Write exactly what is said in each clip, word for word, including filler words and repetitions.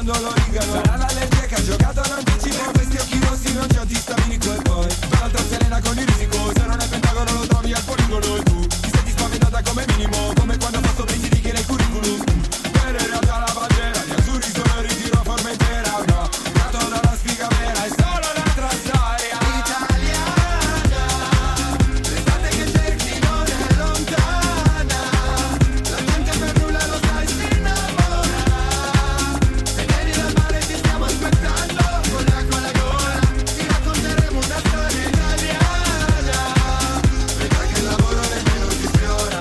quando lo rigano. Sarà l'allergia che ha giocato all'anticipo. Questi occhi rossi non c'è antistaminico. E poi l'altra Selena con il risico. Se non è Pentagono lo trovi al poligono. E tu ti senti spaventata come minimo, come quando ha fatto prendi righe nel curriculum. Per in realtà la bandiera di azzurri solo in ritiro a Formentera. No, nato dalla sfiga vera, è solo un'altra storia italiana. L'estate che cerchi non è lontana. La gente per nulla lo sai si innamora. Se vieni dal mare ti stiamo aspettando. Con l'acqua alla gola ti racconteremo una storia italiana. Vedrai che il lavoro nemmeno ti sfiora.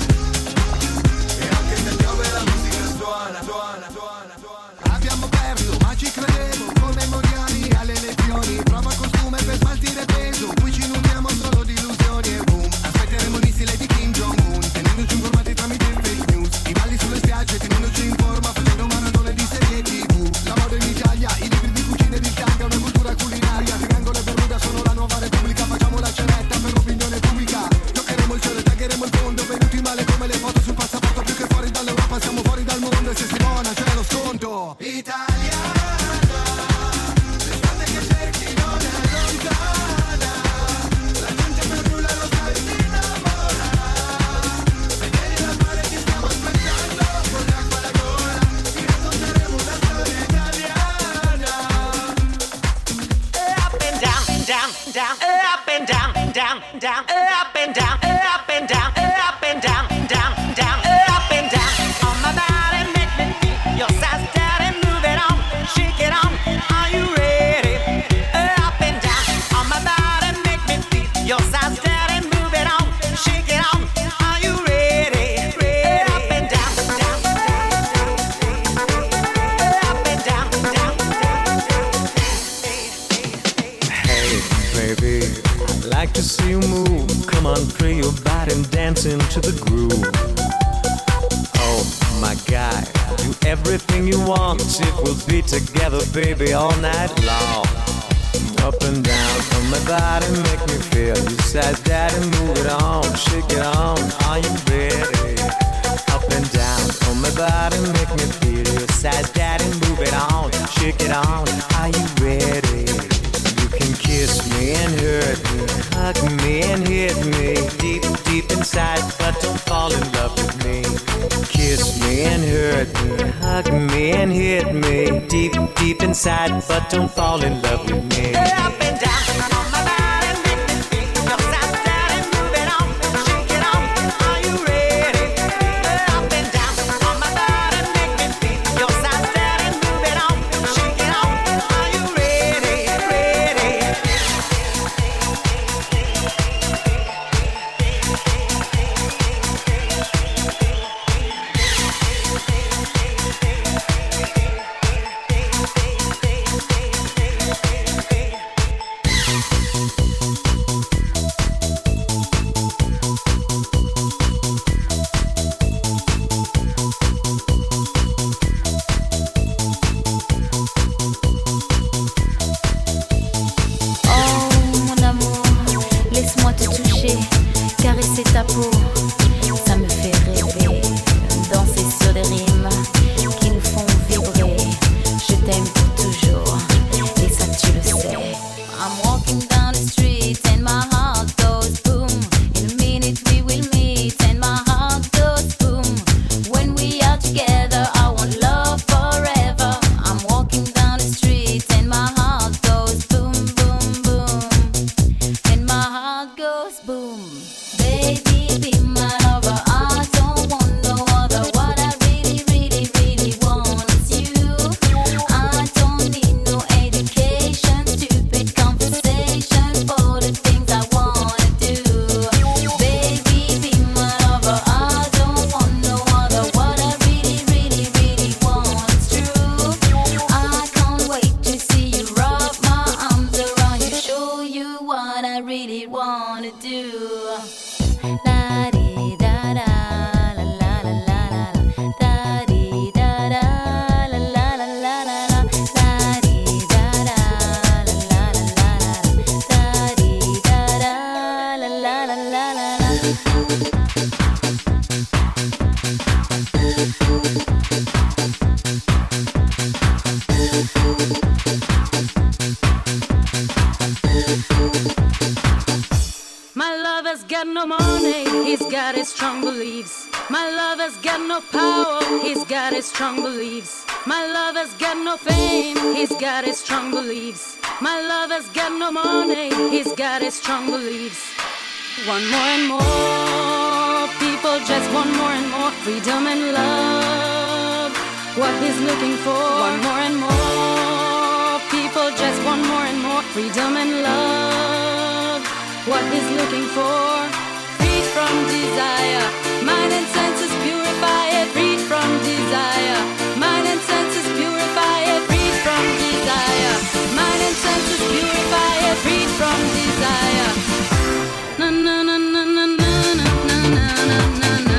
E anche se piove la musica suona, suona, suona, suona. Abbiamo perso, ma ci credevo, come Moriani alle elezioni. Prova costume per smaltire peso, qui ci nutriamo solo di illusioni. E boom, aspetteremo il missile di Kim Jong-un, tenendoci informati tramite fake news. I balli sulle spiagge, tenendoci in forma, facendo maratone di serie tivù. La moda in Italia, i libri di cucina ed il tanga, una cultura culinaria. Triangolo e Bermuda sono la nuova repubblica, facciamo la cenetta per l'opinione pubblica. Toccheremo il cielo e taggeremo il fondo, venuti male come le foto sul passaporto. Più che fuori dall'Europa siamo fuori dal mondo, e se si buona c'è lo sconto. Italiana, l'estate che cerchi non è lontana. La gente per nulla lo sai si innamora. Se vieni dal mare ti stiamo aspettando. Con l'acqua alla gola ti racconteremo una storia italiana. Up and down, down, down, up and down, down, down, up and down, up and down, up and down, down, down, up and down. On my body, make me feel your size, daddy, move it on, shake it on. Are you ready? Up and down. On my body, make me feel your size, daddy, move it on, shake it on. Are you ready? Ready? Up and down, down, up and down, down. Hey, baby, I'd like to see you move. Come on, free your body and dance into the groove. Oh, my guy, do everything you want. If we'll be together, baby, all night long. Up and down on my body, make me feel your size, daddy, move it on, shake it on. Are you ready? Up and down on my body, make me feel your size, daddy, move it on, shake it on. Are you ready? You can kiss me and hurt me, hug me and hit me deep, deep inside, but don't fall in love with me. Kiss me and hurt me, hug me and hit me deep, deep inside, but don't fall in love with me. Up and down on my body, make me feel your size, daddy, move it on, shake it on. Are you ready? Up and down on my body, make me feel your size, daddy, move it on, shake it on. Are you ready? Ready? strong beliefs. My lover's got no power, he's got his strong beliefs. My lover's got no fame, he's got his strong beliefs. My lover's got no money, he's got his strong beliefs. One more and more people just want more and more freedom and love. What he's looking for. One more and more people just want more and more freedom and love. What he's looking for. Freed from desire, mind and senses purify it. Freed from desire, mind and senses purify it. Freed from desire, mind and senses purify it. Freed from desire. Na na na na na na na na na na na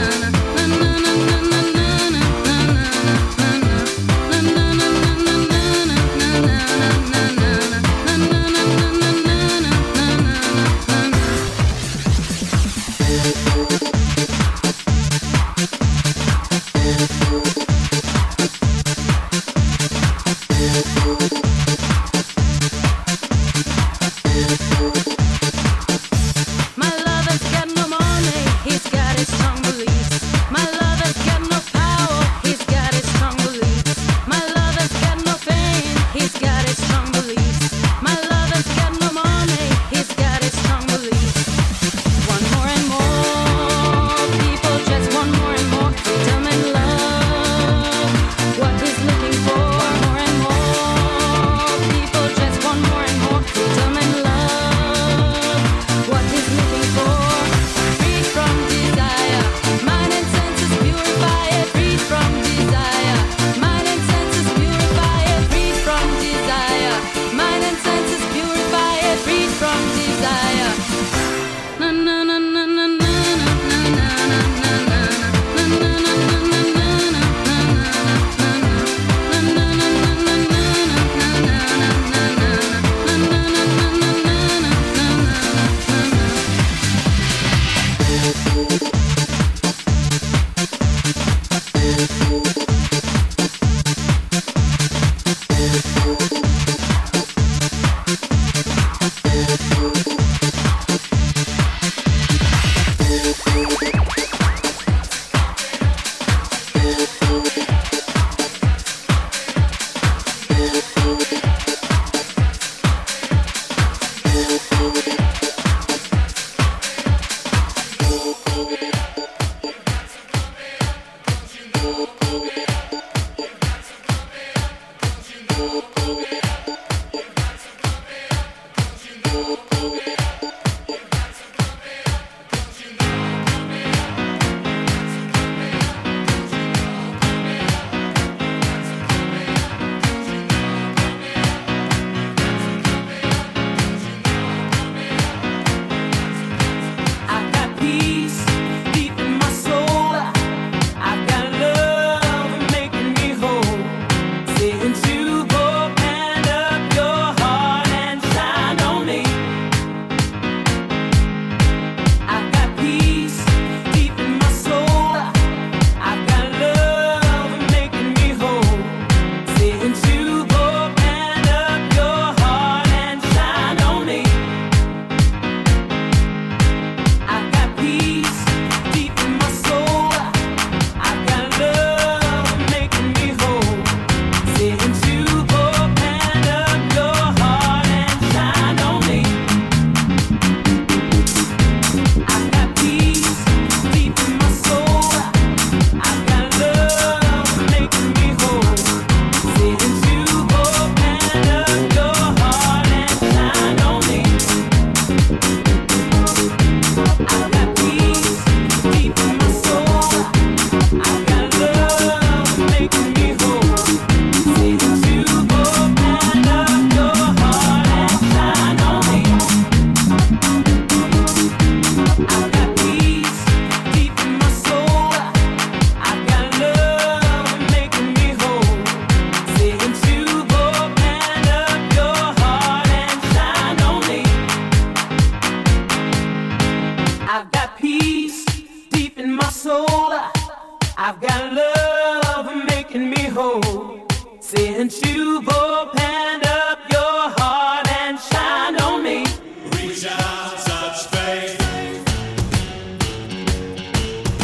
Since you've opened up your heart and shined on me, reach out, touch faith.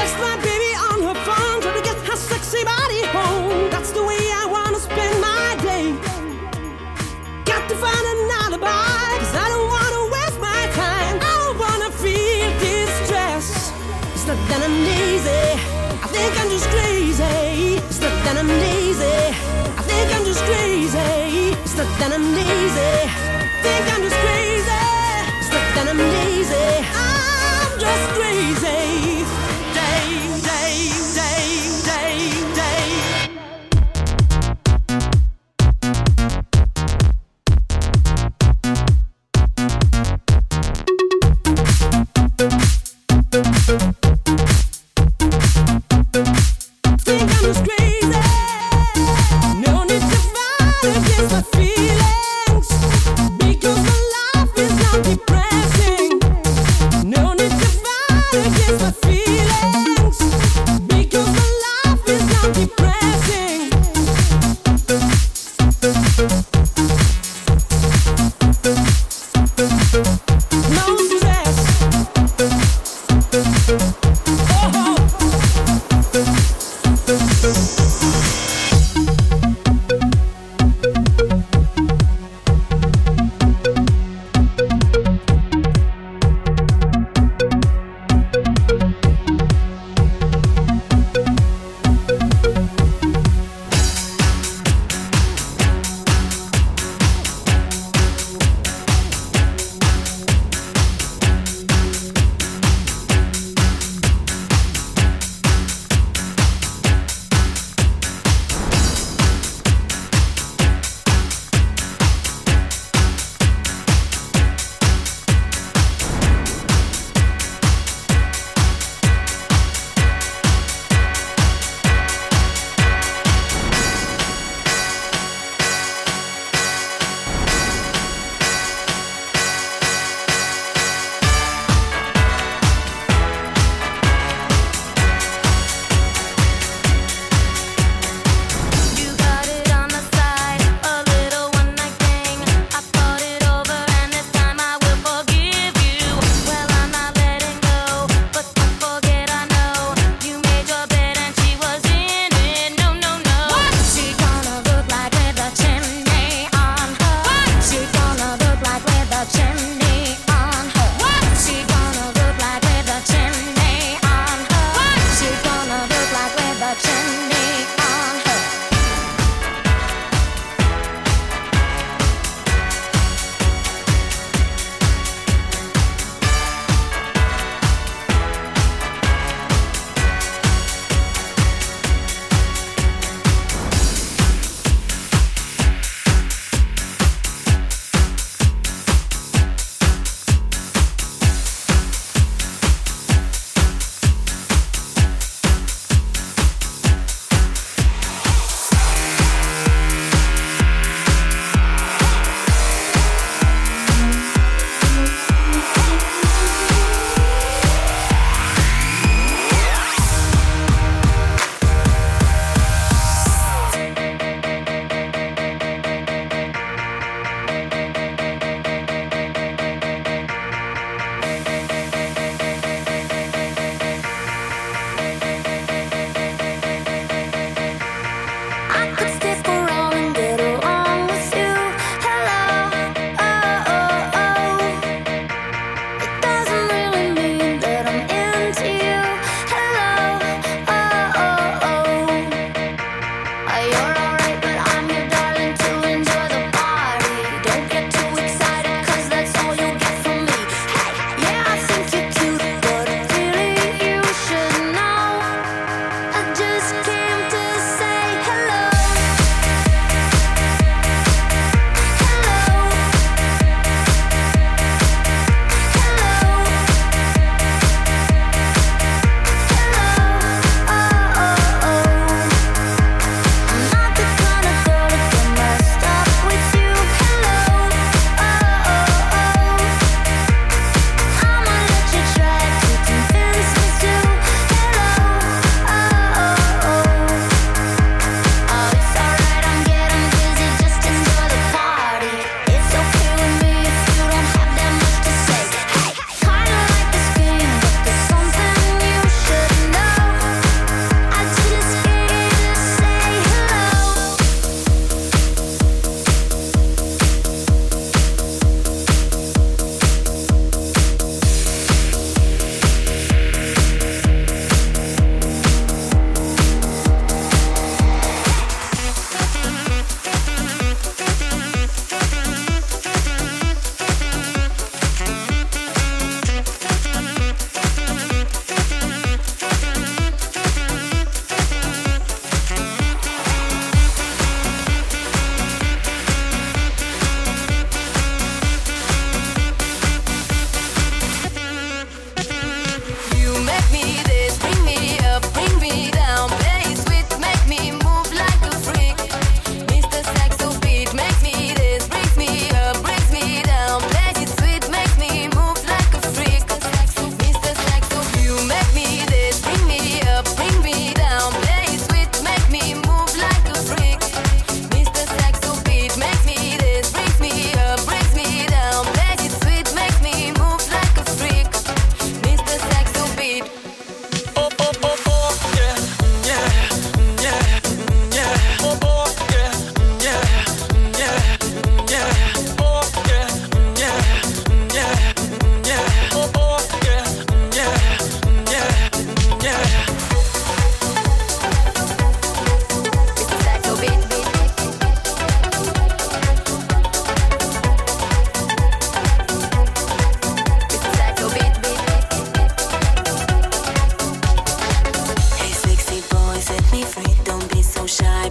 text my baby on her phone, try to get her sexy body home. That's the way I wanna spend my day. Got to find an alibi, cause I don't wanna waste my time. I don't wanna feel distress. It's not that I'm lazy, I think I'm just crazy. It's not that I'm lazy, I think I'm just crazy. It's not that I'm lazy, I think I'm just crazy. It's not that I'm lazy, I'm just crazy. Day, day, day, day, day. Think I'm just crazy. No need to fight against my feelings, because my life is not depressing. No need to fight against my feelings, because my life is not depressing. No stress. Oh.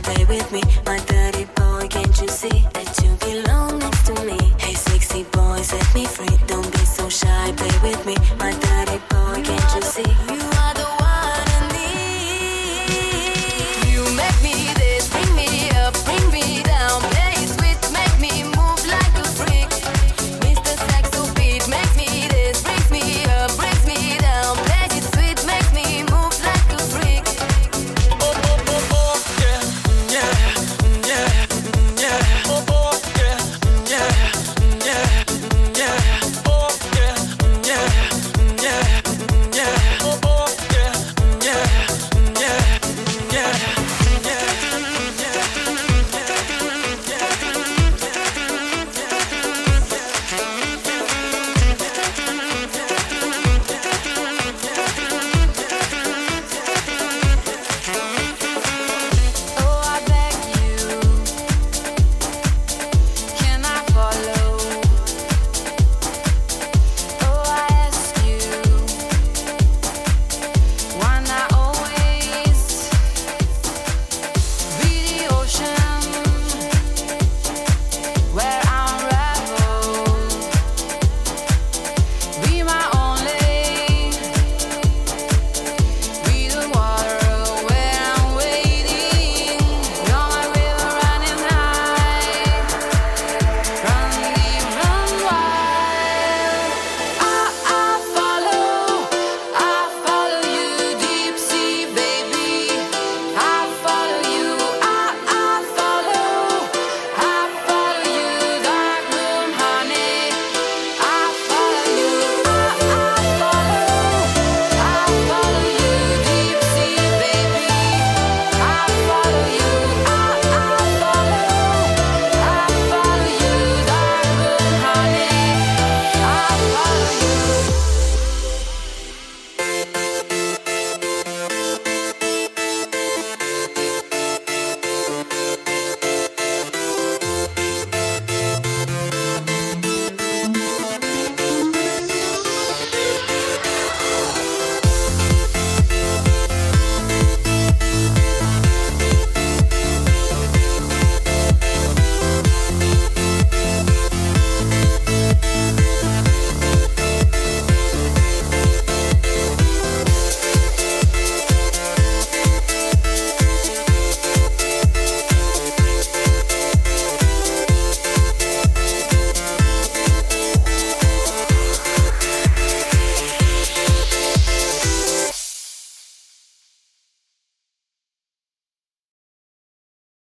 stay with me. My